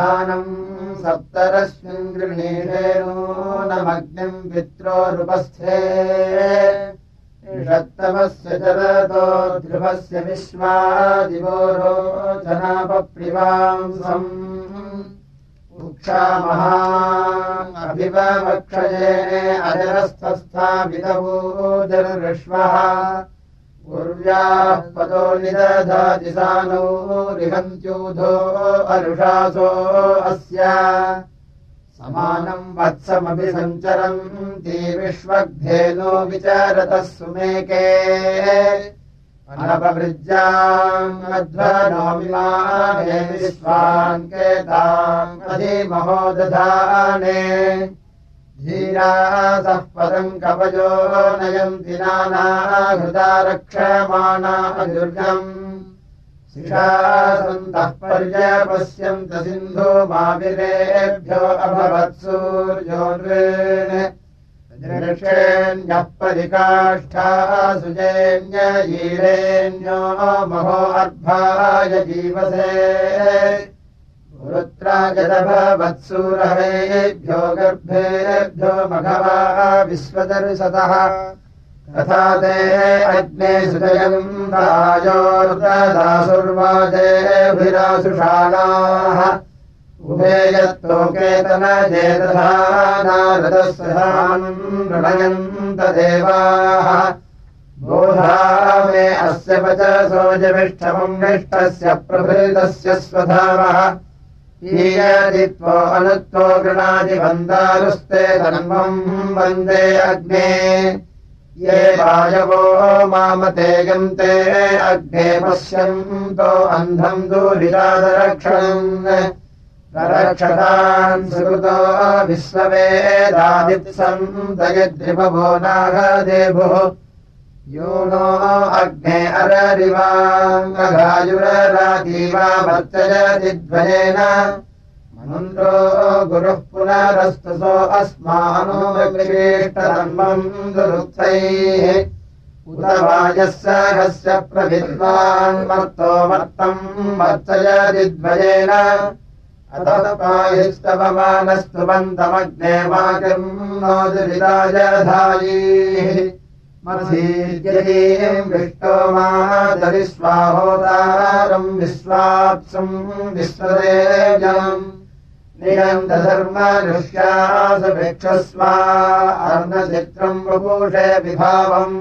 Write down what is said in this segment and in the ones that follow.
दधानम् सप्तरश्मिन् गृणीषेणूनमग्निम् पित्रोरुपस्थे षत्तमस्य चरतो ध्रुवस्य विश्वादिवो रोचनापप्रिवांसम् उक्षामहा अभिवक्षये अजरस्थस्थापितवोजर्विश्वः उर्व्याः पदो निदधाति सानो रिहन्त्यूधो अरुषासो अस्य समानम् वत्समपि सञ्चरन्ति विश्वग्धेनो विचारतः सुमेके अनपवृज्याम् अध्वनोमिमाने विश्वान् केताम् अधिमहो दधाने धीरासः पदम् कवयो नयन्ति नानाहृदा रक्षमाणा दुर्गम् शिशासन्तः पर्यपश्यन्त सिन्धो माविरेभ्यो अभवत्सूर्योन्वेक्षेण्यः परिकाष्ठा सुजेन्ययीरेण्यो महो अर्भाय जीवसे पुरुत्राजदभवत्सूरहेभ्यो गर्भेभ्यो मघवा विश्वदर्शतः तथा ते अग्ने सुजयम् राजोर्दासुर्वाजेभिरासुषाणाः उभे यत्तोकेतनजेतथा नारदस्वधाम् ऋणयन्त देवाः बोधा मे अस्य वचसोजविष्ठमम् निष्ठस्य प्रभृतस्य स्वधावः ईयदित्वो अनुत्वो गृणादि वन्दारुस्ते धर्मम् वन्दे अग्ने ये वायवो मामते यन्ते अग्ने पश्यन्तो अन्धम् दूरिरादरक्षणम् रक्षतान् सुकृतो विश्ववेदादित्सन्तयद्रिपवो नागदेभुः यो नो अग्ने अररिवाङ्गायुररातीवा वर्तयदिद्वयेन मन्त्रो गुरुः पुनरस्तुसो अस्मानो विशिष्टधर्मम् दुरुक्तैः उत वायः सहस्य प्रविद्वान् मर्तो मर्तम् वर्तयदिद्वयेन अतः पाहिस्तवमानस्तु बन्तमग्ने वाकिम् नो दुरिताजधायीः मधीर्यतीम् विष्टो मादरिस्वाहोदारम् विश्वाप्सम् विश्वदेव्यम् नियन्तधर्मनुष्यासभिक्षस्वा अर्णचित्रम् वपुषे विभावम्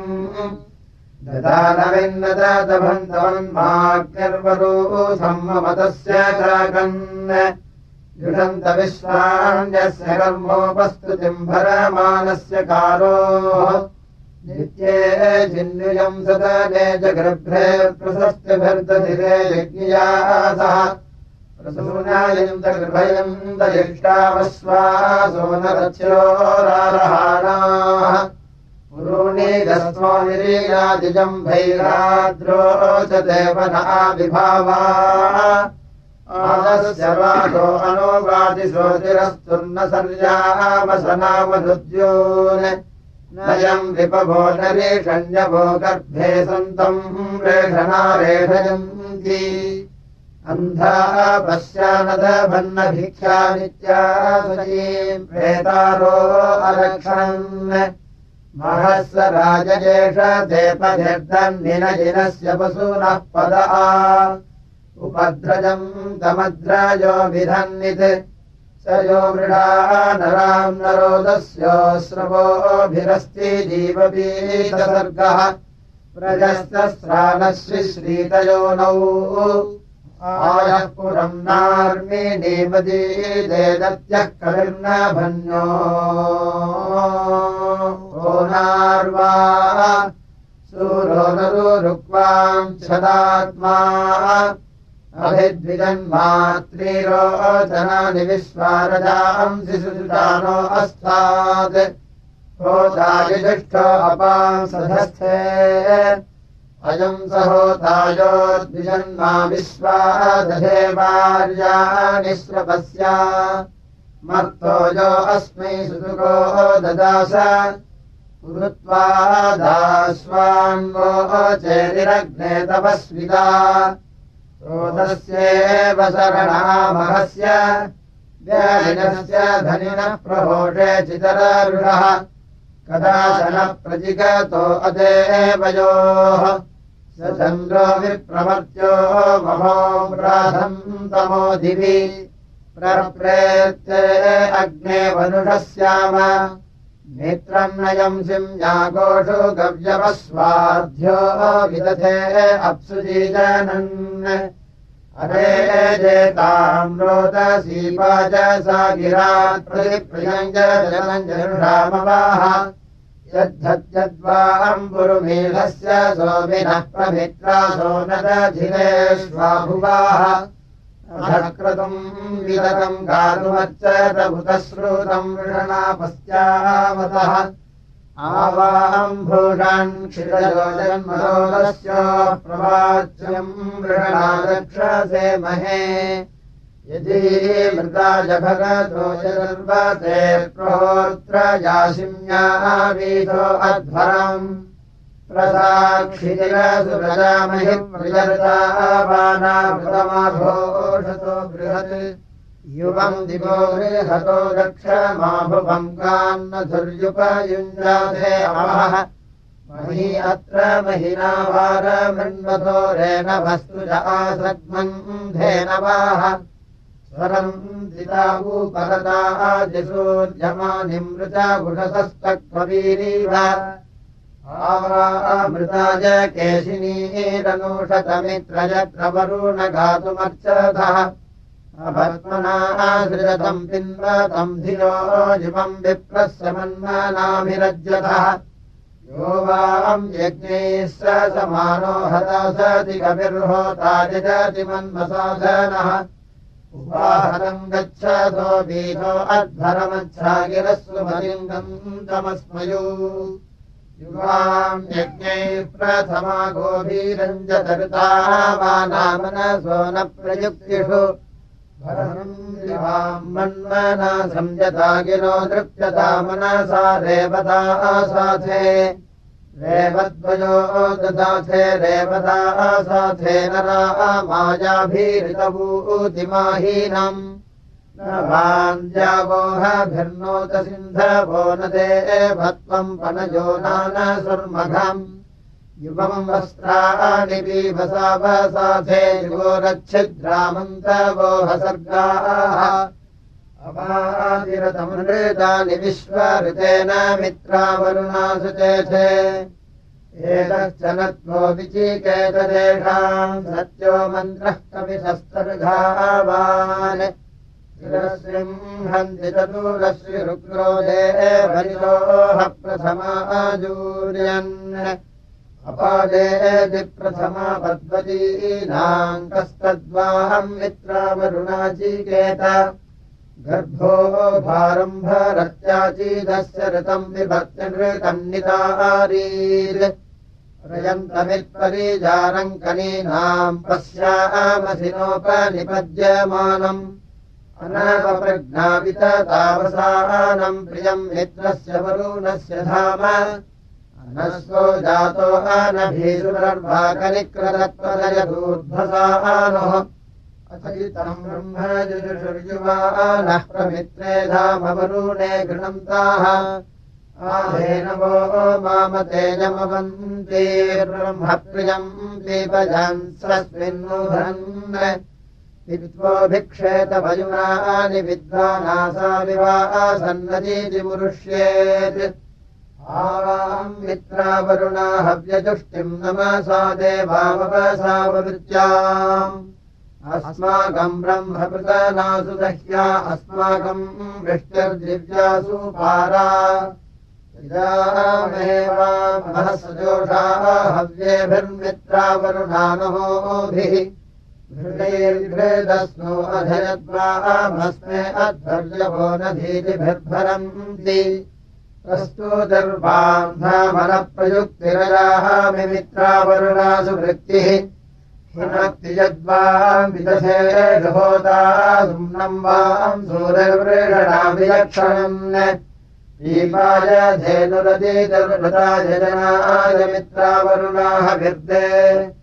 ददानविन्नतभन्तवन्माग्निर्वरूथम् ममतस्य चाकन् युषन्त विश्वाण्यस्य कर्मोपस्तुतिम् भरमानस्य कारोः नित्ये जिन्नुयम् सदने जगृभ्रे प्रशस्तिभिर्दधिरे यज्ञयासः प्रसूनायन्त गृभयन्त यष्टावश्वासो नरथ्योरारहाणाः पुरूणीदस्मो निरीयादिजम् भैराद्रोचते वना विभावा आदस्य वातो अनोवादिशोतिरस्तुर्न सर्यामसनामनुद्योन् नयम् विपभो नरेषण्यभो गर्भे सन्तम् रेषणारेषयन्ति अन्धा पश्यानदभन्नभिख्या नित्यासुजीम् प्रेतारो अरक्षन् महस्स राजजेष देपधिर्दन्निनजिनस्य पशूनः पदा उपद्रजम् तमद्राजो विधन्नित् स यो मृडा नराम् नरोदस्योऽस्रवोभिरस्ति जीवपीतसर्गः प्रजस्तस्रानश्रीतयोनौ आयः पुरम् नार्मिणीमदीदेदत्यः कविर्नभन्यो ओ नार्वा सूरो नरुरुक्वाम् छदात्मा अभिद्विजन्मात्रीरोचनानि विश्वारजांसि सुजानो अस्तात् होतायुजुष्टो अपांसधस्थे अयम् स होतायोद्विजन्मा विश्वादधे वार्याणि श्रवस्या मर्तो यो अस्मै सुसुको ददास पुरुत्वा दास्वान्वो चेतिरग्ने तपस्विता रोदस्येव शरणामहस्य व्यालिनस्य धनिनः प्रहोषे चितरारुषः कदाचन प्रजिगतो अदेवयोः स चन्द्रो विप्रमर्त्यो महोम्राधम् तमो दिवि प्रप्रेत्ते अग्ने वनुषस्याम नेत्रम् नयम् सिंयागोषु गव्यवस्वाध्यो विदधे अप्सुजीजनन् अरे जेताम् रोदसीपा च सा गिरात् प्रतिप्रियम् च जनञ्जनुषामवाह यद्धत्यद्वाम्बुरुमीलस्य सोमिनः प्रमित्रा सोनदधिरेष्वाभुवाः अधक्रतुम् विदतम् गातुमच्चतभुतश्रुतम् वृषणापस्यावतः आवाम्भूषान् क्षिरयोजन्मरोदस्य प्रवाच्यम् वृषणादक्षसे महे यदि मृता जभगतो यदर्वते प्रोत्र यासिम्यावीथो अध्वरम् प्रसाक्षितिरसुरजामहि प्रजर्तावानामृतमाघोषतो बृहत् युवम् दिवो बृहतो दक्षमाभुवम् कान्नधुर्युपयुञ्जाते अमः मही अत्र महिना वारमृण्वतो रेणवस्तु च आसग्मन्धेनवाः स्वरम् दितावूपरतादिसूर्यमानिमृता बुषसस्तक्ववीरीव आवामृताय केशिनीरनूषतमित्रयत्रवरुण गातुमर्चथः अभस्मना सृजतम् पिन्वतम् धियो युवम् विप्रस्य मन्मनाभिरज्यतः यो वाम् यज्ञैः स समानो हतासति कविर्होता यजति मन्मसाधनः उपाहतम् गच्छतो बीथो अध्वरमच्छागिरस्सु मलिङ्गम् तमस्मयो युवाम् यज्ञैः प्रथमा गोभीरञ्जतरुतावानामनसो न प्रयुक्तिषु भरम् मन्मना संयता गिरो दृप्यता मनसा रेवता साथे रेवद्वयो ददाथे रेवता साथे नरा मायाभिरितभूतिमाहीनम् न वान्द्यावोहभिर्नोत सिन्धवो न देवत्वम् पनयो नानसुर्मघम् युवम् वस्त्राणि पीवसावसाथे युवोरच्छिद्रामन्तवोहसर्गाः अपादिरतमृतानि विश्वऋतेन मित्रावरुणासु चेथे एतश्च नत्वो विचिकेतदेषाम् सत्यो मन्त्रः कविशस्तर्घावान् शिरसिंहन्ति चतुरश्रिरुग्रो देवरिलोह प्रथमाजूर्यन् अपादेति प्रथमा पद्वतीनाम् कस्तद्वाहम् मित्रावरुणाचिकेत गर्भो भारम्भरत्याचीदस्य ऋतम् विभक्तिनृतम् नितारीर् रयन्तमित्परिजारम् कनीनाम् पश्यामसिनोपनिपद्यमानम् अनवप्रज्ञापिततावसानम् प्रियम् मित्रस्य वरुणस्य धाम अनस्वो जातो अनभीसुरर्भाकनिकृतत्वदयदूर्ध्वसानोः अथैतम् ब्रह्मजुषुर्युवानः प्रमित्रे धामवरुणे गृणन्ताः आधेनवो मामतेजमवन्तीर्ब्रह्मप्रियम् दीपजान् स्वस्मिन्नुभरन् विद्वोभिक्षेतवयुनानि विद्वानासा विवासन्नदीति मुरुष्येत् आवाम् मित्रावरुणा हव्यजुष्टिम् नमसा देवावसाववृत्याम् अस्माकम् ब्रह्मपृतनासु दह्या अस्माकम् वृष्टिर्दिव्यासु पारा इदामेवामहसजोषाः हव्येभिर्मित्रावरुणानहोभिः घृतैर्घृतस्नो अधयद्वामस्मे अध्वर्यवो नधीतिभिर्भरन्ति प्रस्तुतिर्वान्धामनप्रयुक्तिरयाः मित्रावरुणासु वृत्तिः हिनक्ति यद्वाम् विदधे होता सुम्नम् वाम् सूर्यवृषणाभिलक्षणम् दीपाय धेनुरदितर्वृताय जनाय मित्रावरुणाः विर्दे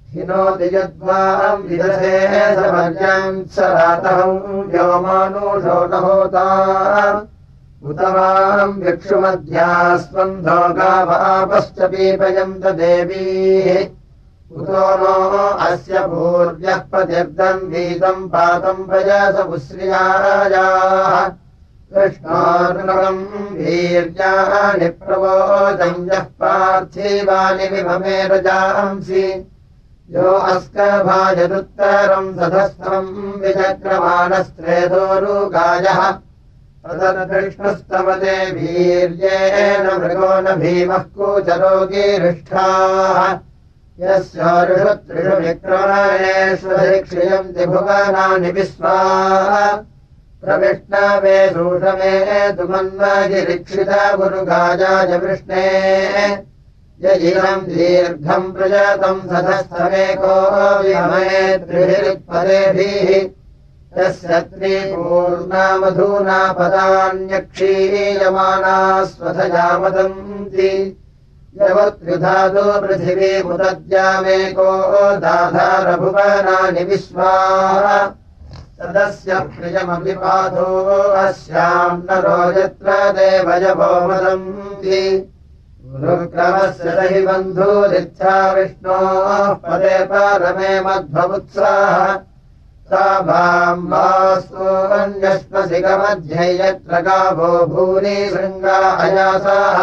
हिनोति यद्वाम् विदधे समर्याम् स रातः व्योमानुषो न होता उत वाम् विक्षुमध्यास्पन्धो गावापश्च पीपयन्त देवीः उतो नो अस्य पूर्व्यः प्रतिर्दम् वीतम् पातम् पयस पुश्रियायाः कृष्णार्णवम् वीर्याणि प्रवोदम् यः पार्थिवानि विभमे रजांसि यो अस्कभाजदुत्तरम् सधस्थम् विचक्रमाणस्त्रेदोरुगायः तदकृष्णस्तमते वीर्येण मृगो न भीमः कूचरोगीरिष्ठाः यस्योरुषु त्रिषु विक्रमणेष्वधिक्षयन्ति भुवनानि विश्वा प्रविष्णवे सूषमे तु मन्मगिरीक्षित गुरुगाजाय वृष्णे यजिरम् दीर्घम् प्रजातम् सधस्थमेको विमये त्रिभिरुत्पदेभिः यस्य त्रिपूर्णा मधूना पदान्यक्षीयमाना स्वधया वदन्ति यवत्युधातु पृथिवीमुदद्यामेको दाधारभुवनानि विश्वा तदस्य प्रियमपि पाथो अस्याम् नरो यत्र देवयवो वदन्ति गुरुक्रमस्य हि बन्धुरित्था विष्णोः पदे परमे मध्वमुत्साह सा भाम्बास्तु अन्यस्मसिकमध्ये यत्र गावो भूरि शृङ्गा अयासाः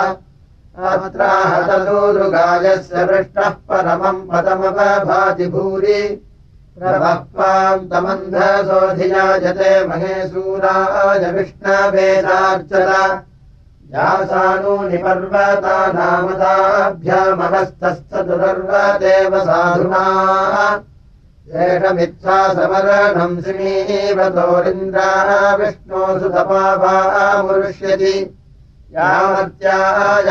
अत्राहतदूरुगायस्य पृष्ठः परमम् पदमवभाति भूरि प्रभक्त्वाम् तमन्धसोऽधियाजते महेशूराय विष्णवेदार्चत यासानूनि पर्वतानामताभ्यामहस्तश्चतुरर्वदेव साधुना एषमित्सा समरणम् श्रीवतोरिन्द्रा विष्णोऽसुतपावामुरुष्यति यामत्याय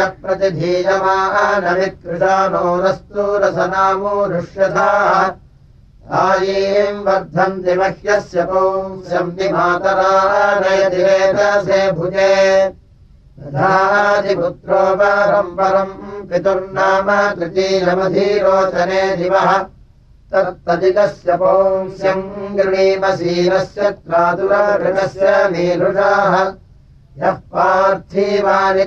प्रतिधीयमानवित्कृशानोरस्तु रसनामोरुष्यथाः आयीम् वर्धन्ति मह्यस्य पुंस्यम् निमातरा नयति वेदसे भुजे दधातिपुत्रो परम् पितुर्नाम तृतीयमधीरोचने दिवः तत्तदिकस्य पुंस्यम् गृणीमशीरस्य त्रातुरगृणस्य मीरुषाः यः पार्थिवानि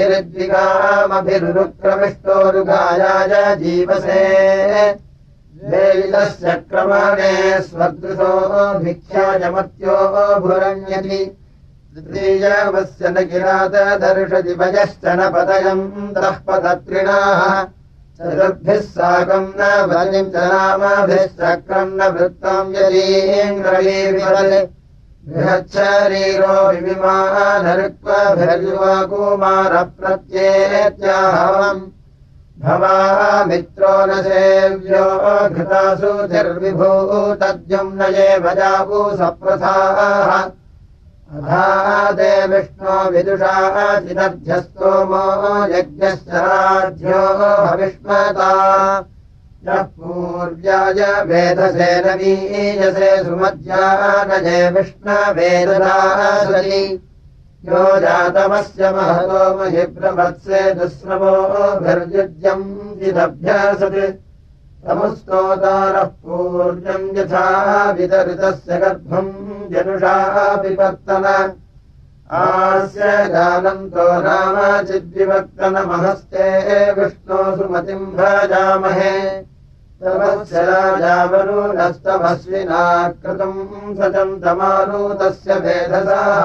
त्रिभिरुद्विगामभिरुक्रमिष्टोरुगायाय जीवसे वेलितस्य क्रमणे स्वदृशो भिक्षायमत्यो भुरण्यति तृतीयवस्य न किरातदर्शति भजश्च न पदयन्तः पदत्रिणाः चतुर्भिः साकम् न बलिम् च नामभिश्चक्रम् न वृत्तम् यदीन्द्रवीविपदे बृहच्छरीरो विविमानरुक्वभिर्युवकुमारप्रत्येत्याहवम् भवा मित्रो न सेव्यो घृतासु तिर्विभूतद्युम् न ये भजावु सप्रथाः अधादे विष्णो विदुषा चिदध्यस्तोमो यज्ञश्च राज्यो हविष्मता यः पूर्व्याय वेदसे नवीयसे सुमध्यानये विष्णवेददासरि यो जातमस्य महतो महि प्रवत्से दुःश्रवोभिर्युज्यम् चिदभ्यासत् तमुस्तोतारः पूर्णम् यथा वितरितस्य गर्भम् जनुषा पिपत्तन आस्य जानन्तो नाम चिद्विवर्तनमहस्ते विष्णो सुमतिम् भजामहे तमस्य राजावरुणस्तमस्विना कृतम् सचन्तमारुतस्य वेधसाः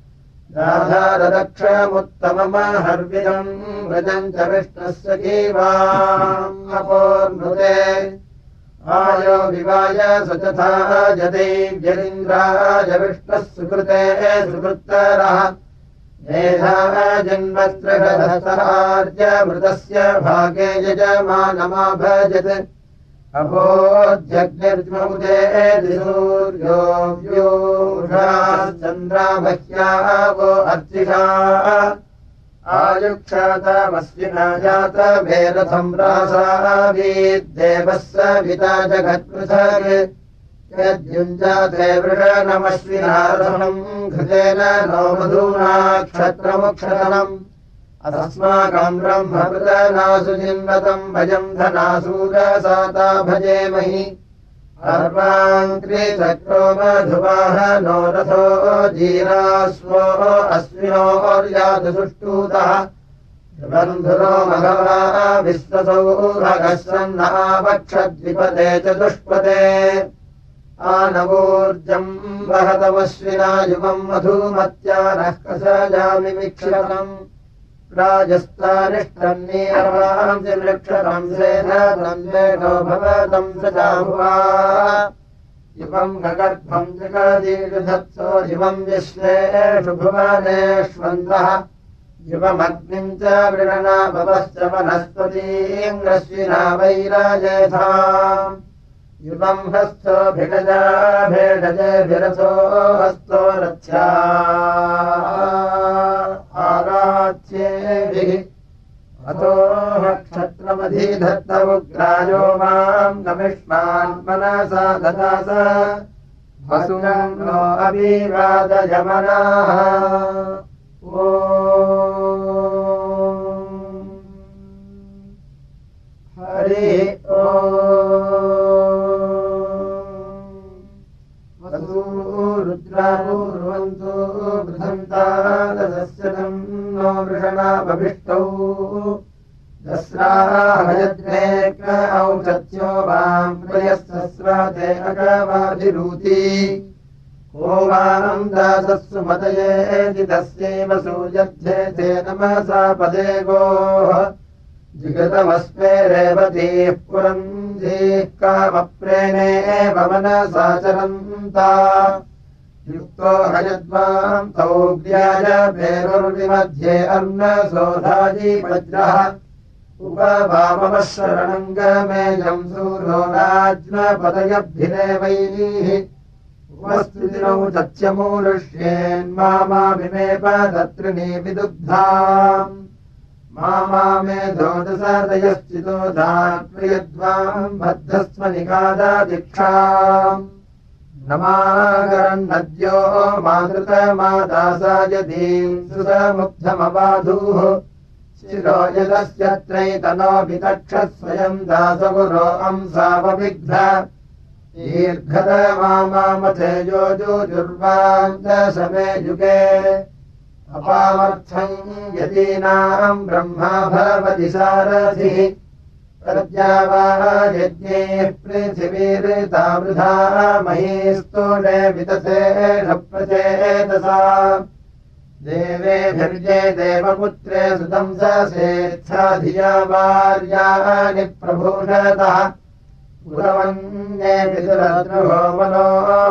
राधारदक्षमुत्तममहर्विदम् व्रजम् च विष्णस्य जीवाम् अपोर्नुते आयो विवाय सचथा जदैव्यरिन्द्राय विष्णः सुकृते सुकृत्तरः मेधा जन्मस्त्रगधसहार्यमृतस्य भागे यजमानमाभजत् अभोज्जग्निर्ज्मौदे दिसूर्यो व्यूषाश्चन्द्रामह्यावो अर्चिषाः आयुक्षातमस्विना जातभेरथम् रासावीद्देवः सविता जगत्पृथक् यद्युञ्जाते वृषणमश्विना रथम् घृतेन नो मधूना क्षत्रमुक्षतनम् अस्माकम् ब्रह्मपृतनासु जिन्वतम् भजम् धनासूरसाता भजेमहि अर्वाङ्क्रीचक्रो मधुवाहनो रथो जीरास्वो अश्विनोर्यातु सुष्टूतः बन्धुरो मघवा विश्वसौभगः सन्नावक्षद्विपदे चतुष्पदे आनवोर्जम् वहतमश्विना युगम् मधुमत्या नः कसजामि मिक्षतम् राजस्थानिष्टन्नीरवाम् वृक्षतम् सेधतम् वेदो भवतम् सजाभुवा युवम् गगर्भम् जगदीर्धत्सो युवम् विश्वेषु भुवनेष्वन्तः युवमग्निम् च वृणना भवश्च वनस्पतीङ्गश्विना वैराजेथा युवम् हस्तो भिडजा भेडजेभिरथो हस्तो रथ्या आराच्येभिः अतो क्षत्रमधिधत्तमुग्रायो माम् नमिष्मान् मनसा ददास वसुनम् नो अभिवादयमनाः ॐ हरि ॐ रुद्रापूर्वन्तु बृहन्तादस्यतम् नो वृषणाभभिष्टौ दस्राहयद्वेक औषध्यो वाम् प्रयस्तस्राते अगवाभिरूति को वाम् दासस्सु मतयेति तस्यैव सूयध्ये नमसा पदे गोः जिगतमस्मे रेवतीः पुरन्धीः कामप्रेणेव मनसा चरन्ता युक्तो हयद्वाम् तौग्र्याय पेरुर्विमध्ये अन्नसोधायि वज्रः उपवामवः शरणम् गमेयम् सूरो राज्ञपदयभिरेवैः उपस्थितिनौ तथ्यमूलुष्येन्मामाभिमेव तत्रिणी विदुग्धाम् मामे धोदसदयश्चितो धात्प्रियद्वाम् बद्धस्व निगादादीक्षाम् नमागरन्नद्यो मातृतमादासायदीम् सुतमुग्धमबाधूः शिरो यदस्यत्रैतनोऽभितक्षः दासगुरो अंसावविग्ध दीर्घतमामामथेजो जुर्वान्तसमे युगे अपामर्थम् यतीनाम् ब्रह्मा भवति सारथिः प्रद्यावा यज्ञैः पृथिवीरिता वृथा महीस्तूणे वितथेन प्रचेतसा देवेभिर्ये देवपुत्रे सुतम् सेत्था धिया वार्याणि प्रभूषतः पुरवन्ये पितुरद्रुहो मनो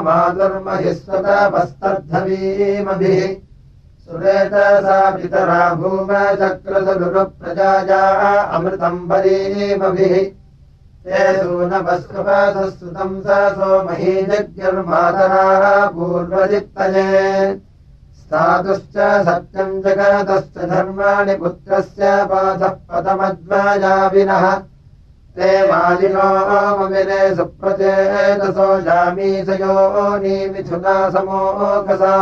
मातुर्महिस्वतपस्तद्धवीमभिः सुरेतसा पितरा भूमचक्रसुरुप्रजाया अमृतम् बलीमभिः ते सूनपस्कपासः सुतम् सो महीजज्ञर्मातरा पूर्वजित्तये स्थातुश्च सत्यम् जगतश्च धर्माणि पुत्रस्य पाथः पतमद्वयाविनः ते मालिनो ममिरे सुप्रचेतसो जामीसयोनी मिथुना समोकसा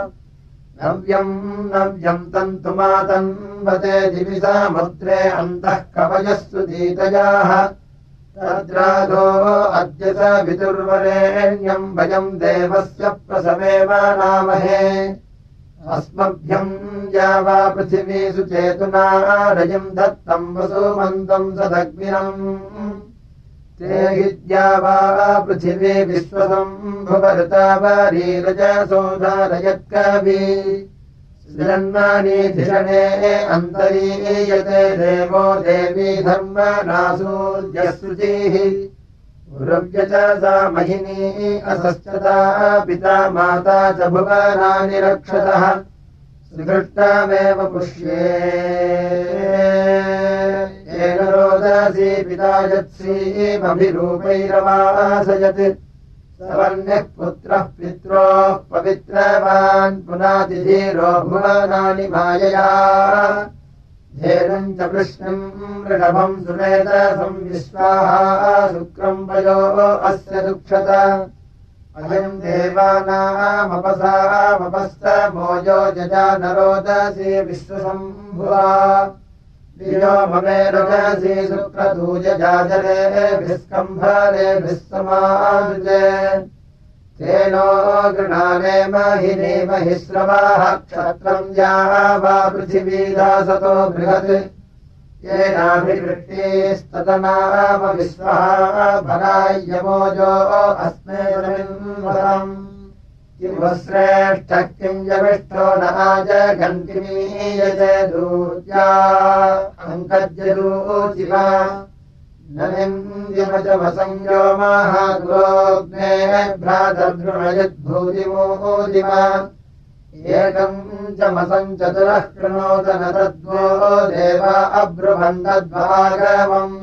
नव्यम् तन्तुमातन्वते दिविसा मुद्रे अन्तः कवयः सुदीतयाः तद्राधो अद्य स विदुर्वरेण्यम् भयम् देवस्य प्रसवेवानामहे अस्मभ्यम् यावा पृथिवी सुचेतुना रजम् दत्तम् वसुमन्तम् सदग्निनम् ते हि द्यावा पृथिवी विश्वसम्भुवऋतावरीरजसोधारयत्कवि सृजन्मानीधिषणे अन्तरीयते देवो देवी धर्मनासूर्यः शुचिः उरव्य च सा महिनी असश्चता पिता माता च भुवनानि रक्षतः सुदृष्टामेव पुष्ये येन रोदसी पिता यत्सीमभिरूपैरवासयत् सवर्ण्यः पुत्रः पित्रोः पवित्रवान् पुनातिधीरो भुवनानि मायया धेनुम् च कृष्णम् वृषभम् सुमेधसम् विश्वाः शुक्रम् वयो अस्य दुक्षत अयम् देवानामपसामपस्तमोजो जजानरोदसी विश्वसम्भुवा दियो भवेरजसि सुक्रतूजजाजरेभिः स्कम्भरेभिः समाजुजे तेनो गृणानेम हि नेमहि श्रवाः क्षत्रम् वा पृथिवीदासतो बृहत् येनाभिवृष्टिस्ततनाम विश्वः भरायमोजो अस्मे रविन्वरम् किं श्रेष्ठः किं जविष्ठो न आजघण्टिमीयते दूत्या अङ्कज्यदूचिवा न निन्द्यमजमसंयो महाग्रोग्ने भ्रातर्दृणयद्भूतिमोदिमा एकम् चमसम् चतुरः कृणोत न तद्वो देवा अब्रुवन्दद्वागमम्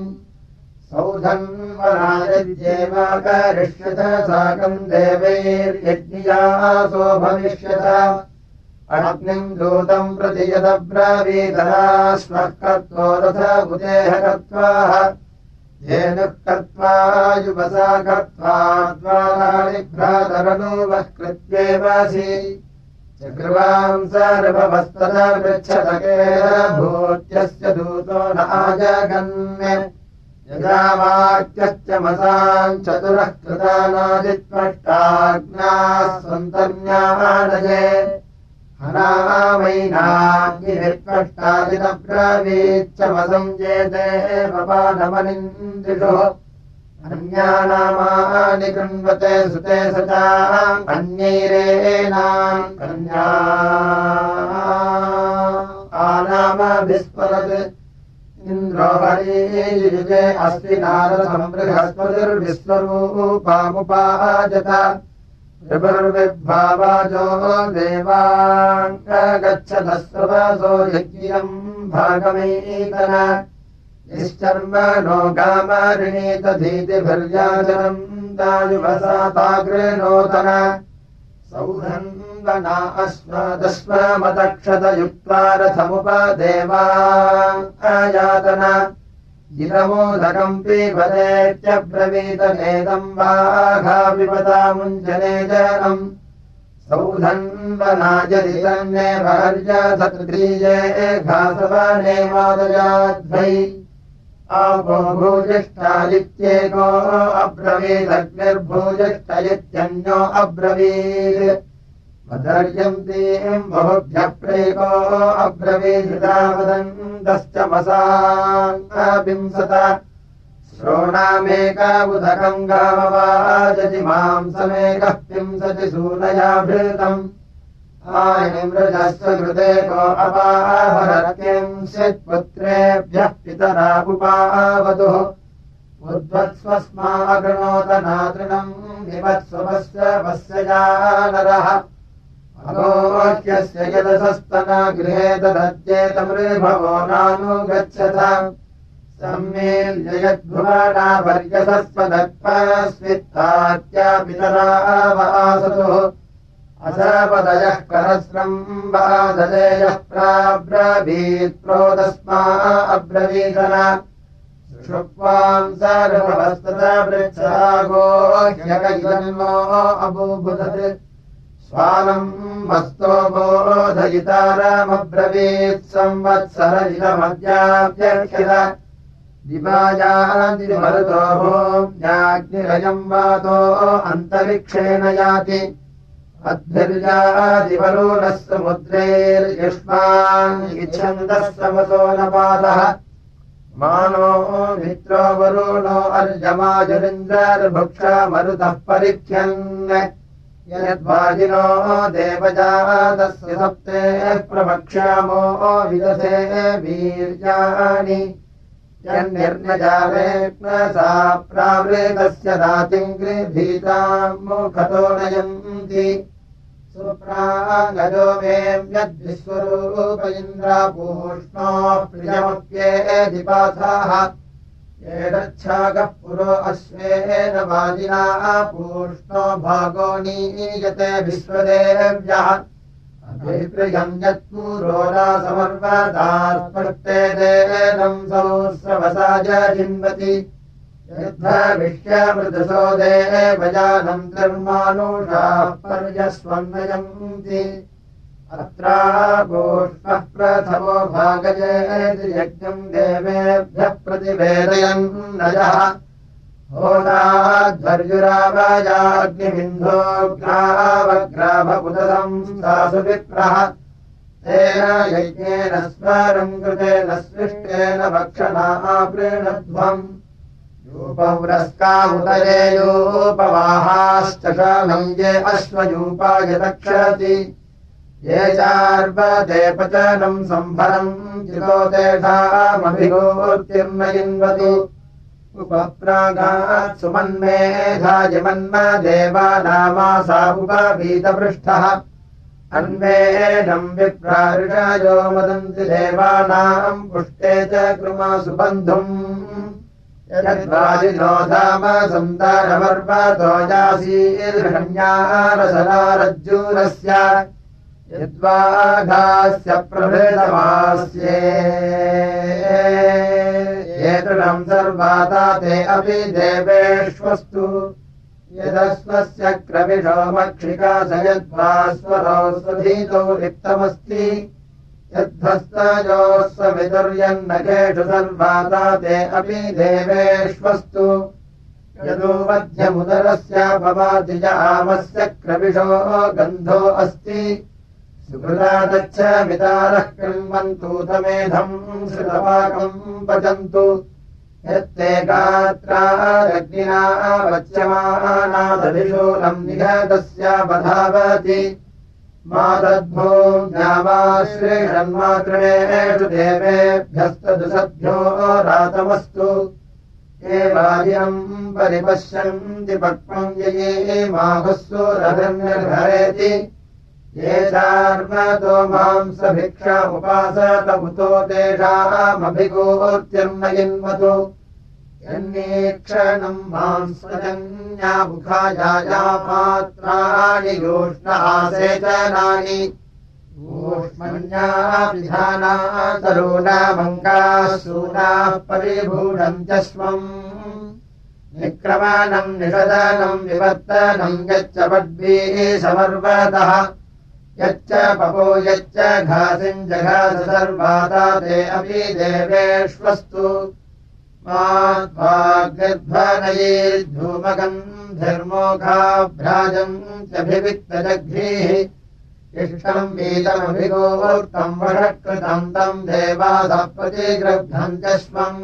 सौधन्वनायद्येवाकरिष्यत साकम् देवैर्यज्ञियासो भविष्यत अग्निम् दूतम् प्रति यदब्रवीतरा स्वः कर्त्वो रथ बुधेह कर्त्वाः धेनुः कर्त्वा युवसा कर्त्वा द्वाराणि भ्रातरनुवः कृत्येवासि चक्रुवाम् सर्ववस्तदा पृच्छतकेन भूत्यस्य दूतो न आजगन्मे यदा वाक्यश्च मसाम् चतुरः कृतानादित्वष्टाग्नाः सन्तर्ण्यानये हनामैनाग्निर्त्वष्टादिनब्रवीच्चमसंजेते पपानमनिन्द्रिषो अन्यानामानि कृण्वते सुते सचाम् अन्यैरेणाम् कन्या आनामभिस्फुरत् इन्द्रो हरियुजे अस्ति नारदम् बृहस्पतिर्विश्वरूपामुपाजत ऋभुर्विद्भावाजो देवाङ्गच्छतस्वसो यज्ञम् भागमेतन निश्चर्मणो गामरिणीतधीतिभिर्याचनम् दायुवसा तागृणोतन सौधन्वना अश्वदश्वमतक्षतयुक्त्वा रथमुपदेवायातन इदमोदकम् पीबदेत्यब्रवीतनेदम् वाघापिपतामुञ्जने जनम् सौधन्वनायदितन्नेव हर्यसतृतीये घासवनेमादयाध्वै आपो भूजिष्ठादित्येको अब्रवीदग्निर्भूजिष्ठ इत्यन्यो अब्रवीत् वदर्यन्तीम् बहुभ्यः प्रेको अब्रवीधृता वदन्तश्च मसाङ्गविंसत श्रोणामेकाबुधकम् गामवाजति मांसमेकः पिंसति सूनयाभृतम् आनिमृजस्व कृतेको अपाहरत्किंश्चित्पुत्रेभ्यः पितरा उपावतुः उद्वत्स्वस्मागृणोतनातृणम् विवत्स्वपस्य पश्यया नरः अगोह्यस्य यदसस्तना गृहे तदद्येतमृभवो नानुगच्छथ सम्मेल्ययद्भुवना पर्यसस्वदत्पस्वित्तात्या पितरा वासतुः असपदयः करस्रम् वादलेयः प्राब्रवीत् प्रोदस्मा अब्रवीतन सुषुप्वाम् सर्ववस्तदा पृच्छागो ह्यकैवन्नो अबूबुधत् स्वानम् वस्तो बोधयितारमब्रवीत् संवत्सर इदमद्याभ्यर्थित दिवायादिमरुतो भूम्याग्निरयम् वातो अन्तरिक्षेण याति अद्भिर्यादिवरुणः समुद्रैर्युष्मान् इच्छन्दः समसो नपातः मानो मित्रो वरुणो अर्यमाजुरिन्द्रर्भुक्षा मरुतः परिख्यन् यद्वाजिनो देवजातस्य सप्तेः प्रवक्ष्यामो विदधे वीर्याणि यन्निर्नजावेक्नसा प्रावृतस्य दातिम् गृहीताम् मुखतो नयन्ति सुप्रागजो वेम्यद्विश्वरूप इन्द्रापूष्णो प्रियमप्येधिपाथाः एतच्छाकः पुरो अश्वेन वाजिना पूष्णो भागो नीयते विश्वदेव्यः अभिप्रियम् यत्पूरोरा समर्वदा स्पष्टे देनम् सहस्रवसा जिन्वति यद्भविष्यमृतसो देवयानम् धर्मानुषाः पर्यस्वन्नयन्ति अत्रापूष्णः प्रथमो भागयेति यज्ञम् देवेभ्यः प्रतिवेदयन्नयः होदाध्वर्युरावयाग्निबिन्धोग्रावग्राभपुतम् सासु विप्रः तेन यज्ञेन स्वरम् कृतेन सृष्टेन भक्षणा प्रीणध्वम् यूपव्रस्का उदयेयोपवाहाश्च शालम् ये अश्वयूपाय रक्षति ये चार्वते पचनम् सम्भरम् चितो तेषामभिगोर्तिर्नयिन्वतु उपप्रागात् सुमन्मेधायमन्मदेवानामासा उपवीतपृष्ठः अन्वेनम् विप्राऋषयो मदन्ति देवानाम् पुष्टे च कृमासु बन्धुम् यद्वाजिनो धाम सन्तानमर्वतो यासीर्षण्यारसनारज्जूरस्य यद्वाघास्य प्रभृतमास्ये एतृणम् सर्वाता ते अपि देवेष्वस्तु यदस्वस्य क्रविषो मक्षिका स यद्वास्वरो स्वधीतो रिक्तमस्ति यद्भस्तयोस्वविदुर्यन्नकेषु सर्वाता ते अपि देवेष्वस्तु यदो मध्यमुदरस्यापवाति च आमस्य क्रविषो गन्धो अस्ति सुकृतादच्छ वितारः कृण्वन्तु तमेधम् श्रुतपाकम् पचन्तु यत्ते गात्रादग्निना वच्यमानादधिशूलम् निघतस्यापधावति मातद्भूम्यावाश्रीषन्मातृणेषु देवेभ्यस्तदुसद्भ्यो रातमस्तु ये वाजिनम् परिपश्यन्ति पक्वम् ये माहुस्सुरभिर्निर्भरेति ये चार्वतो मांसभिक्षामुपासत उतो तेषामभिगोर्तिर्नयिन्वतु यन्नीक्षणम् मांसजन्यामुखाया पात्राणि योष्ण आसेचनानि ऊष्मण्यापिधाना तरूणामङ्गाः सूनाः परिभूढन्त्यश्वम् निक्रमणम् निषदनम् विवर्तनम् यच्च पद्भिः समर्वतः यच्च पपो यच्च घासिम् जघास सर्वाता ते अपि देवेष्वस्तु माध्वाग्निध्वनयैर्धूमगन्धिर्मोघाभ्राजन्त्यभिविक्तजघ्रीः इष्टम् वीतमभिगोर्तम् वषट्कृतम् तम् देवासः प्रतिगृह्णन्त्यश्वम्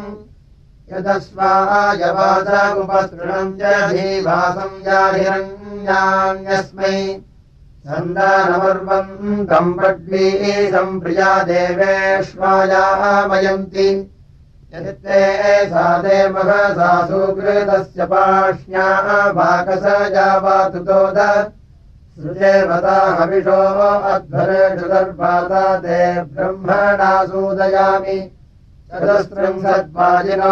यदस्वायवास उपसृणम् च धीवासम् याहिरण्यान्यस्मै सन्दानमर्वन्तम् पड्वीशम् प्रिया देवेष्वायामयन्ति यदिते सा देवहसा सुकृतस्य पाष्ण्या वाकस यावातुतोद सृजेवता हविषो अध्वरेषु दर्भाता ते ब्रह्मणा सूदयामि चतुस्रम् सद्वाजिनो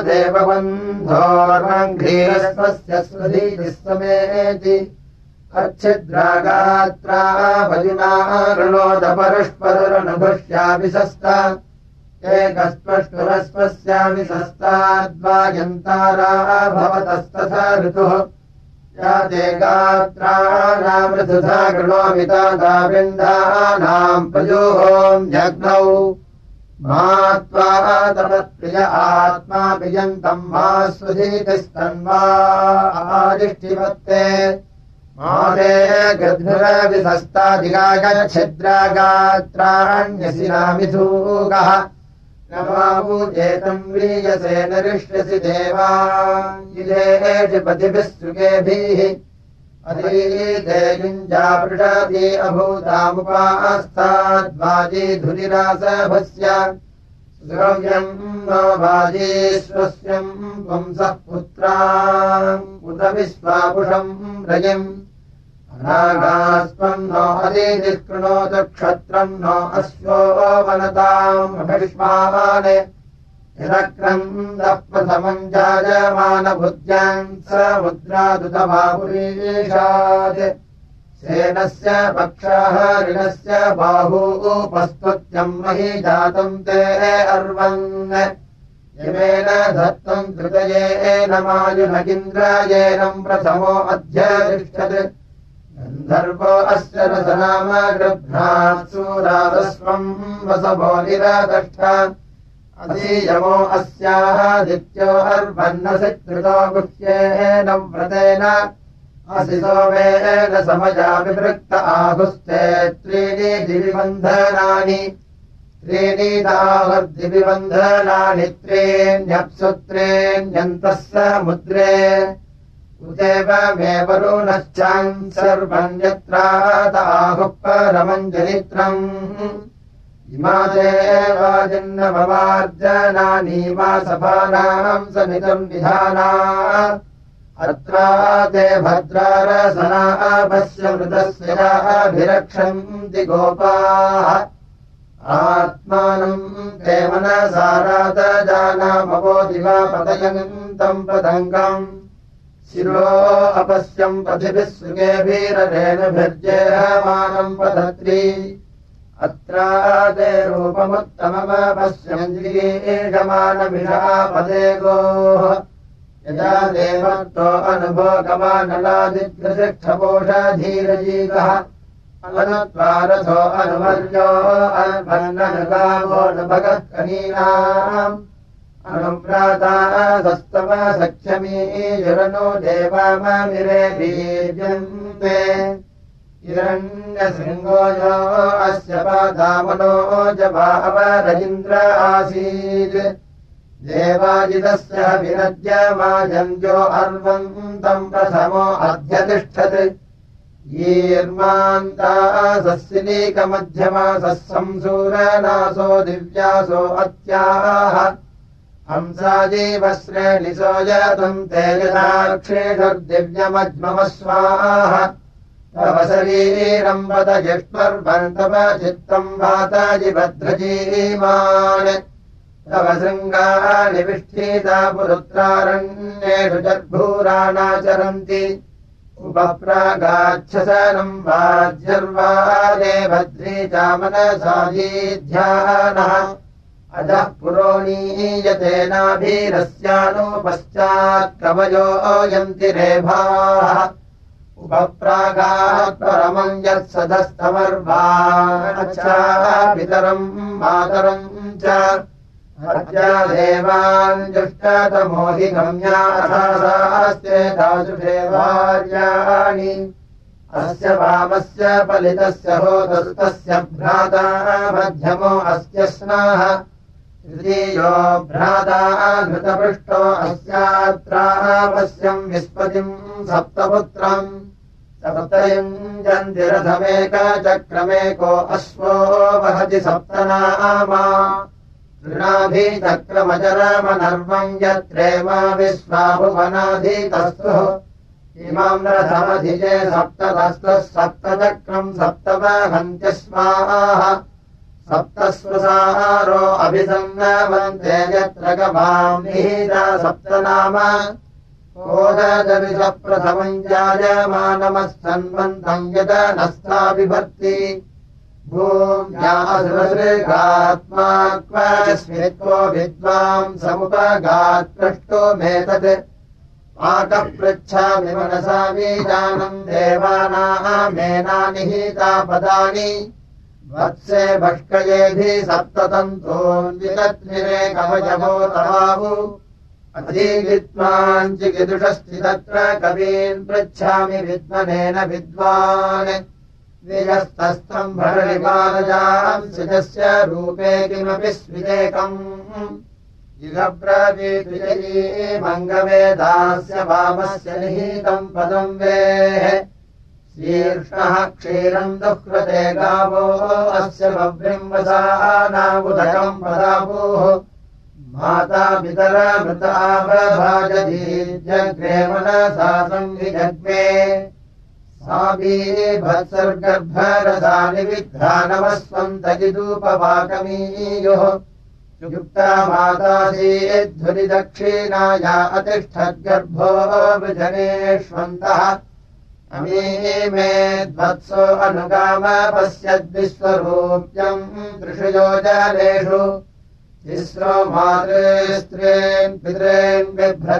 देवबन्धोर्मङ्घ्रीरस्वस्य स्वधीतिः समेति अच्छिद्रागात्रा भजिना ऋणोदपरस्परनुभुष्याभिसस्ता एकस्पष्टुरस्पस्याभिसस्ताद्वायन्तारा भवतस्तथा ऋतुः या ते गात्राणामृथुधा गृणोमितादाविन्दानाम् प्रयोहोम्यग्नौ मात्वा तमत्प्रिय आत्मा पियन्तम् मा स्वधीतिस्तन्वा आदिष्टिवत्ते माते गद्भुरविसस्तादिगागच्छिद्रागात्राण्यसिनामिथूगः न वावुजेतम् व्रीयसे नरिष्यसि देवा इदेषि पतिभिः सुखेभिः अधीते युञ्जापृषादि अभूतामुपास्ताद्वाजी धुरिरासभस्य श्रव्यम् नो वाजीश्वस्यम् पुंसः पुत्राम् उत विश्वापुषम् रजिम् अनागास्त्वम् नो अदीतिः कृणोत क्षत्रम् नो अश्वो वनताम् अभिष्माने यदक्रन्दः प्रथमम् जायमानबुद्ध्याम् समुद्रादुतबाहुरीशात् सेनस्य पक्षः ऋणस्य बाहू उपस्तुत्यम् मही जातम् ते अर्वन् यमेन धत्तम् तृतयेन मायुनगिन्द्रायेनम् प्रथमो अध्यतिष्ठत् गन्धर्वो अस्य रसनाम गृह्णात् सूरादस्वम् वसवो निरादष्ट अधीयमो अस्यादित्यो अर्वन्नसि कृतो गुह्येन व्रतेन असि सोमेन समया विवृक्त आहुस्ते त्रीणि दिविबन्धनानि त्रीणीतावर्दिविबन्धनानि त्रीण्यप्सु त्रीण्यन्तः समुद्रे उदेवमेव वरुणश्चान् सर्वम् यत्रादाहुः परमम् जनित्रम् इमा देवाजिन्नवमार्जनानि मासभानाम् समितम् विधाना अत्रा ते भद्रारसना पश्य मृतस्य याभिरक्षन्ति गोपाः आत्मानम् ते मनसारातजानामवो दिवा पतयन्तम् पतङ्गम् शिरो अपश्यम् पथिभिः सुगेभिररेणुभिर्जेहमानम् पतत्री अत्रा ते रूपमुत्तममपश्यञ्जीषमानमिषापदे गोः यदा देवत्तो अनुभोगमानलादिग्रशिक्षपोषधीरजीगः अनुत्वारथो अनुवर्यो अन्वन्ननुगावो नभगः कनीनाम् अनुव्राता सस्तव सख्यमीयुरनो देवाममिरे बीजन्ते हिरण्यशृङ्गो यो अस्य पादामनो जवावरजिन्द्र आसीत् देवाजितस्य विनद्यमाजन्यो अर्वन्तम् प्रथमो अध्यतिष्ठत् यीर्मान्तासस्सिनीकमध्यमासः संसूरनासो दिव्यासो अत्याह हंसाजीवश्रेणिसो यतम् ते यदाक्षेषुर्दिव्यमज्ममस्वाह तव शरीरम् वद जिष्वर्वन्तव चित्तम् वाताजिभद्रजीमान् तव शृङ्गानि विष्ठीता पुरुत्रारण्येषु जर्भूराणाचरन्ति उपप्रागाच्छसनम् वाज्यर्वादे भद्री चामनसादीध्यानः अजः पुरोणीयते नाभीरस्यानुपश्चात्कवयो यन्ति रेभाः उपप्रागात् परमम् यत्सदस्तमर्वाच्चापितरम् मातरम् च अद्या देवान् जुष्टतमोहि गम्याथास्ते दाशुषेवार्याणि अस्य वामस्य पलितस्य होतस्तस्य भ्राता मध्यमो अस्य स्नाः तृतीयो भ्राता घृतपृष्टो अस्यात्रापस्यम् विस्पतिम् सप्तपुत्रम् सप्तयुञ्जन्तिरथमेकचक्रमेको अश्वो वहति सप्तनामा तृणाभिचक्रमजरमनर्वम् यत्रेमा विश्वाभुवनाधीतस्तुः इमाम् रथमधिजे सप्ततस्तः सप्तचक्रम् सप्तवहन्त्यस्माः सप्तस्वसारो अभिसन्नवन्ते यत्र गवाम् निहिता सप्तनाम कोदजविष प्रथमम् जायमानमस्सन्वन्तम् यद नस्ता बिभर्ति भूम्यासुरसृगात्मा क्वस्मित्वो विद्वाम् समुपगात् पृष्टो मेतत् पाकः पृच्छामि मनसा बीजानम् देवानामेना निहिता पदानि वत्से भष्कयेभिः सप्ततन्तोन्वितत्मिरे कवचभो तवाहु अधीविद्वाञ्चिकिदुषस्ति तत्र कवीन् पृच्छामि विद्मनेन विद्वान् विजस्तस्तम् भरणिपादजाम् सिजस्य रूपे किमपि स्विदेकम् इदब्रवीद्विजयी मङ्गवेदास्य वामस्य निहितम् पदम् वेः शीर्ष्णः क्षीरम् दुह्रते गावो अस्य बभ्रिम् वसानावुदकम् पदापुः माता पितरमृतावभाजधीर्जग्रे मनसा संविजग्मे साबीभत्सर्गर्भरसानि विद्धानवस्वन्तजिदूपवाकमीयुः युक्ता मातासीद्धुरिदक्षिणाया अतिष्ठद्गर्भो वृजनेष्वन्तः अमीमे द्वत्सो अनुगाम पश्यद्विश्वरूप्यम् त्रिषु योजनेषु तिस्रो मातृस्त्रीन् पितॄन्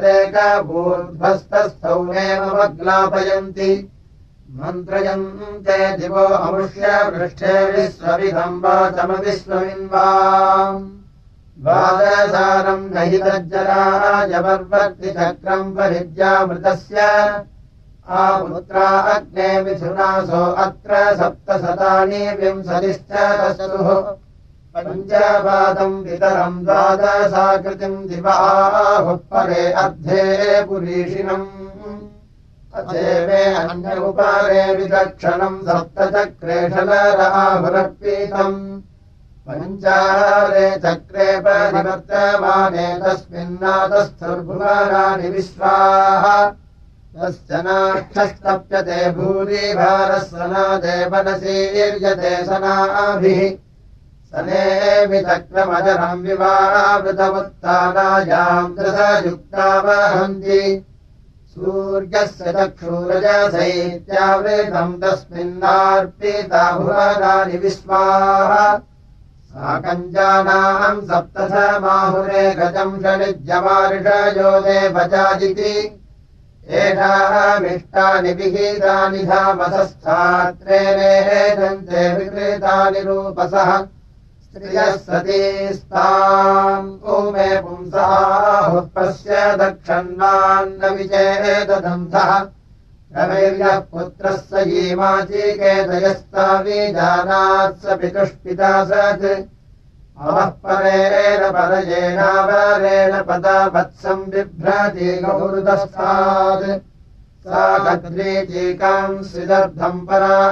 बिभ्रदेकभूर्ध्वस्तस्थौमेमवग्लापयन्ति मन्त्रयन्ते दिवो अमुष्य पृष्ठे विश्वविदम् वाचमविश्वमिन्वाम् द्वादशानम् न हि तज्जराजवर्वर्ति चक्रम् परिज्यामृतस्य आपुत्रा अग्ने मिथुनासो अत्र सप्तशतानि विंशतिश्च दशुः पञ्चपादम् पितरम् द्वादशाकृतिम् दिवाहुः परे अर्धे पुरीषिणम् अथेवे अन्य उपरे विदक्षणम् सप्तचक्रेशलराहुरर्पितम् पञ्चारे चक्रे परिवर्तमाने तस्मिन्नातस्थुर्भुवनानि विश्वाः तस्य नाक्षस्तप्यते भूरि भारस्वनादेवनसीर्यते सनाभिः सनेमि चक्रमजरम् विवावृतमुत्तानायाम् दृशयुक्ता वहन्ति सूर्यस्य चक्षुरजसैत्यावृतम् तस्मिन्नार्पिता भुवनानि विश्वाः साकञ्जानाम् सप्तशमाहुरे गजम् षडिज्यमार्षयो देवजाजिति एषामिष्टानि विहितानि धामसस्थात्रेणेजन्ते विकृतानि रूपसः स्त्रियः सतीस्ताम् ऊमे पुंसाहुः पश्य दक्षन्नान्न विचेदधन्धः रवैर्यः पुत्रः स यीमाचिकेतयस्तावीजानात् स पितुष्पिता सत् अवः परेण परयेनावरेण पदावत्सम् बिभ्रति गौरुदस्तात् सा कद्रीचीकाम् स्विदर्धम्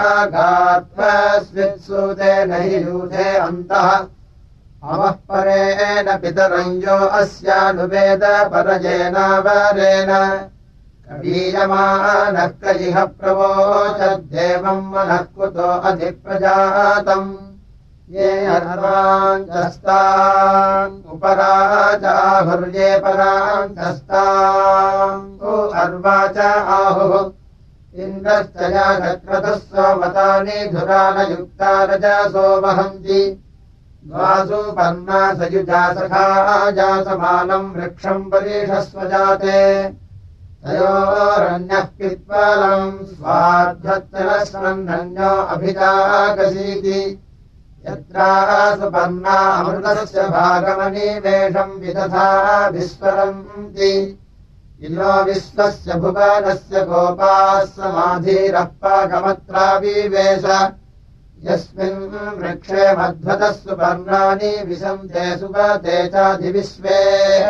परागात्मस्वित्सूतेन हि यूथे अन्तः अवः परेण पितरम् यो अस्यानुवेद परयेनावरेण कवीयमानः कजिह प्रवोचद्देवम् मनः कुतो अधिप्रजातम् ये अर्वाञ्चस्ताम् उपराजाहुर्ये पराञ्चस्ताम् अर्वाच आहुः इन्द्रश्चया चक्रतः सोमतानि धुरानयुक्ता रजसो वहन्ति द्वासु पर्णा सयुजा सखा जासमानम् वृक्षम् परीषस्व जाते तयोरन्यः पित्वलम् स्वार्धत्तरस्मन्नन्यो अभिजागसीति यत्रासु पर्णा अमृतस्य भागमनिवेशम् विदधा विस्वरन्ति इलो विश्वस्य भुवनस्य गोपाः समाधिरः पाकमत्राविवेश यस्मिन् वृक्षे मध्वतः सुपर्णानि विशन्ते सुपते चाधिविश्वे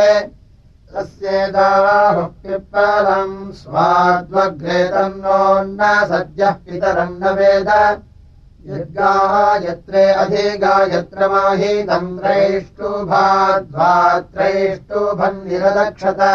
तस्येदाहुः पिप्पलम् स्वाद्वग्रे तन्नोन्न सद्यः पितरम् न वेद यद्गायत्रे अधिगायत्र माहीतम् त्रैष्टुभाद्वात्रैष्टुभन्निरदक्षत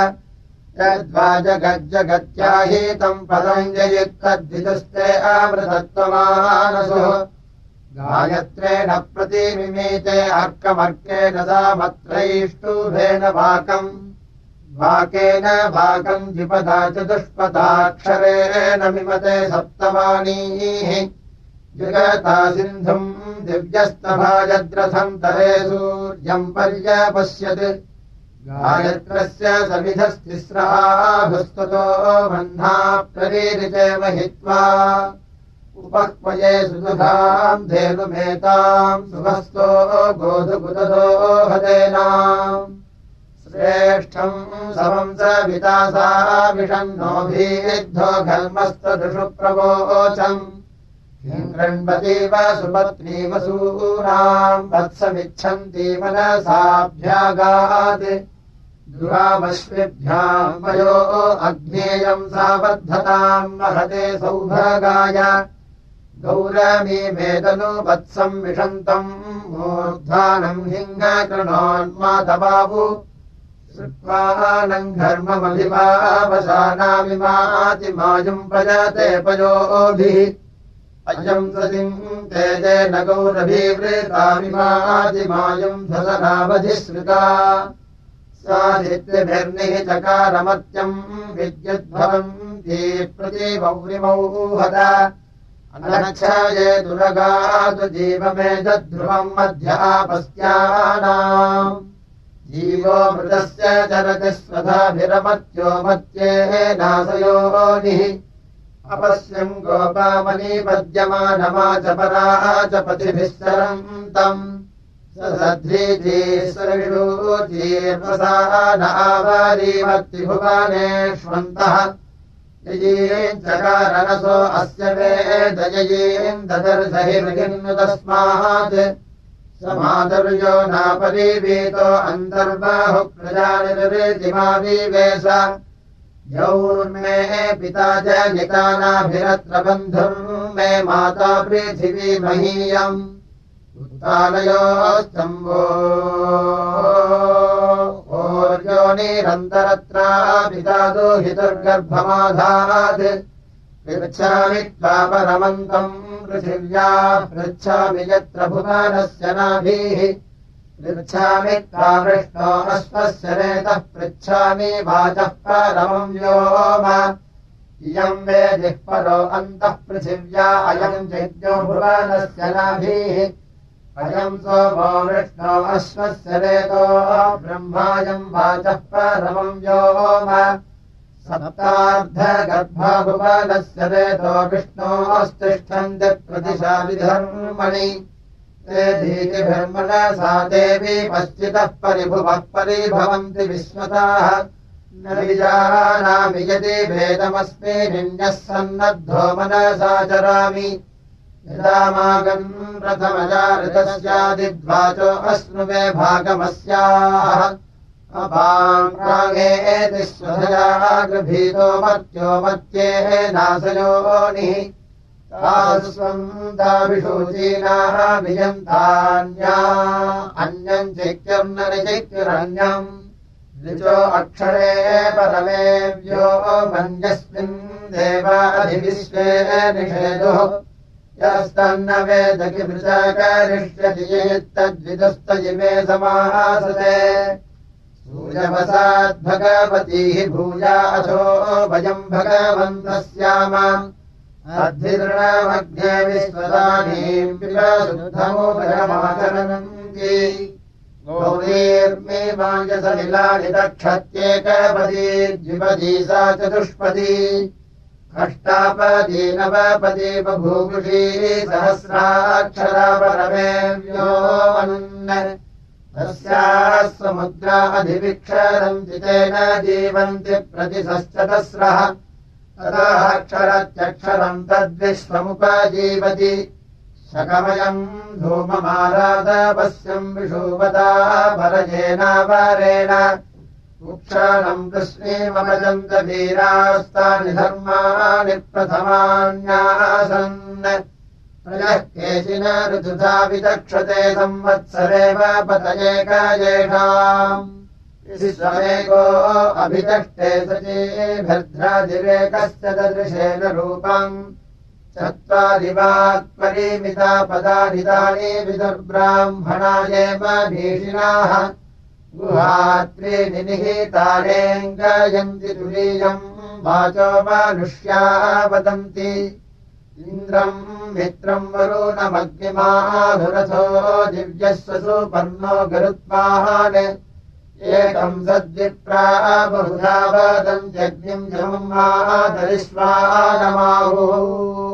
यद्वाजगज्जगत्याहीतम् पदम् जयुक्तद्विदुस्ते अमृतत्वमानसुः गायत्रेण प्रतिमिमीते अर्कमर्केण सामत्रैष्टुभेन वाकम् वाकेन वाकम् द्विपदा चतुष्पदाक्षरेण मिमते सप्तवाणीः जगता सिन्धुम् दिव्यस्तभाजद्रथम् तरे सूर्यम् पर्यपश्यत् गायत्रस्य सविधस्तिस्राभुस्ततो वह्ना प्ररीरिते महित्वा उपक्वये सुदुधाम् धेनुमेताम् सुभस्तो गोधुकुततो हदेनाम् श्रेष्ठम् समम् स वितासा विषन्नोभिद्धो घर्मस्तदृषु प्रवोचम् हिङ्गण्वतीव सुपत्नीव सूनाम् वत्समिच्छन्ति मनसाभ्यागात् दुरामश्विभ्याम् वयो अग्नेयम् सावर्धताम् महते सौभागाय गौरमी वेदनु वत्सम् विषन्तम् मूर्ध्वानम् हिङ्गकृणोन्मातबाहु श्रुत्वानम् घर्ममभिमावसानामिमातिमायुम् पजते पयोभिः अयम् सतिम् तेजेन गौरभीवृतामिमातिमायुम् धसनावधिश्रुता साधित्यभिर्निः चकारमत्यम् विद्युद्भवन्ती प्रतिवौरिमौहत अनक्षये दुरगातु जीवमेजध्रुवम् मध्यापस्यानाम् जीवो मृतस्य चरति स्वधाभिरमत्यो मत्येनाशयोनिः अपश्यम् गोपामनीपद्यमानमाचपरा च पथिभिः सरन्तम् सध्रीजीर्वसानावारीमत्तिभुवानेष्वन्तः ययीम् चकारणसो अस्य वेदययीम् ददर्शहिर्गिन्नु तस्मात् समादर्यो नापरीवीतो अन्तर्बाहुः प्रजानिर्जिमावीवेश यौर्मे पिता च निकानाभिरत्र बन्धुम् मे माता पृथिवी महीयम् उत्तानयोस्तम्भो ओर्योनिरन्तरत्रा पिता दुहितुर्गर्भमाधात् पृच्छामि त्वा परमन्तम् पृथिव्या पृच्छामि यत्र भुवनस्य नाभिः पृच्छामि त्वा वृष्णो अश्वस्य नेतः पृच्छामि वाचः परमम् व्योम इयम् वेदिः परो अन्तः पृथिव्या अयम् यज्ञो भुवनस्य नाभिः अयम् सोमो वृष्णो अश्वस्य नेतो ब्रह्मायम् वाचः परमम् व्योम सप्तार्धगर्भा भुवनस्य रेतो विष्णोस्तिष्ठन्ति प्रतिशा विधर्मणि ते धीतिभिर्मनसा देवी पश्चितः परिभुवः परिभवन्ति विश्वताः न विजानामि यदि भेदमस्मिन्निन्यः सन्नद्धो मनसा चरामि यदामागम् प्रथमजा ऋतस्यादिद्वाचो अश्नुवे भागमस्याः अपाङ्गेति स्वधया गृभीतो मर्त्यो मत्येः नाशयोनिः तास्वम् दाविषूचीनाः विजन्तान्या अन्यम् चिक्यर्ननिचिक्युरन्यम् ऋचो अक्षरे परमेव्यो मन्यस्मिन् देवाधिविश्वे निषेदुः यस्तन्न वेद किमृचा करिष्यति तद्विदुस्तजिमे समासते सूर्यवसाद्भगवतीः भूया अथो वयम् भगवन्तः स्याम अद्भिर्णमग्ने विश्वदानीम् पिबसुधमुपरमाचरन्ति गौरीर्मे मायसलिलानि दक्षत्येकपदी द्विपदी सा चतुष्पदी अष्टापदी नवपदी बभूवुषी सहस्राक्षरा परमेव्यो मनुन् तस्याः समुद्रा अधिविक्षरन्ति तेन जीवन्ति प्रतिशश्चतस्रः ततः अक्षरत्यक्षरम् तद्विश्वमुपजीवति शकमयम् धूममारादपस्यम् विषुवता परजेनावरेण उक्षाणम् कृष्णीमभजन्त वीरास्तानि धर्माणि प्रथमान्यासन् प्रजः केचिन ऋतुधा विचक्षते संवत्सरेव पतये कायेषाम् विश्वमेको अभिचष्टे सचीभिर्ध्रादिरेकस्य ददृशेन रूपम् चत्वारिवात्परिमिता पदानितानि विदुर्ब्राह्मणायेव भीषिणाः गुहात्रीनि निहितानेऽङ्गयन्ति तुरीयम् वाचो मानुष्या वदन्ति इन्द्रम् मित्रम् वरुणमग्निमाधुरथो दिव्यस्य सुपर्णो गरुत्मान् एकम् सद्विप्रा बहुधा वदन्त्यग्निम् जमम् मातरिष्वानमाहुः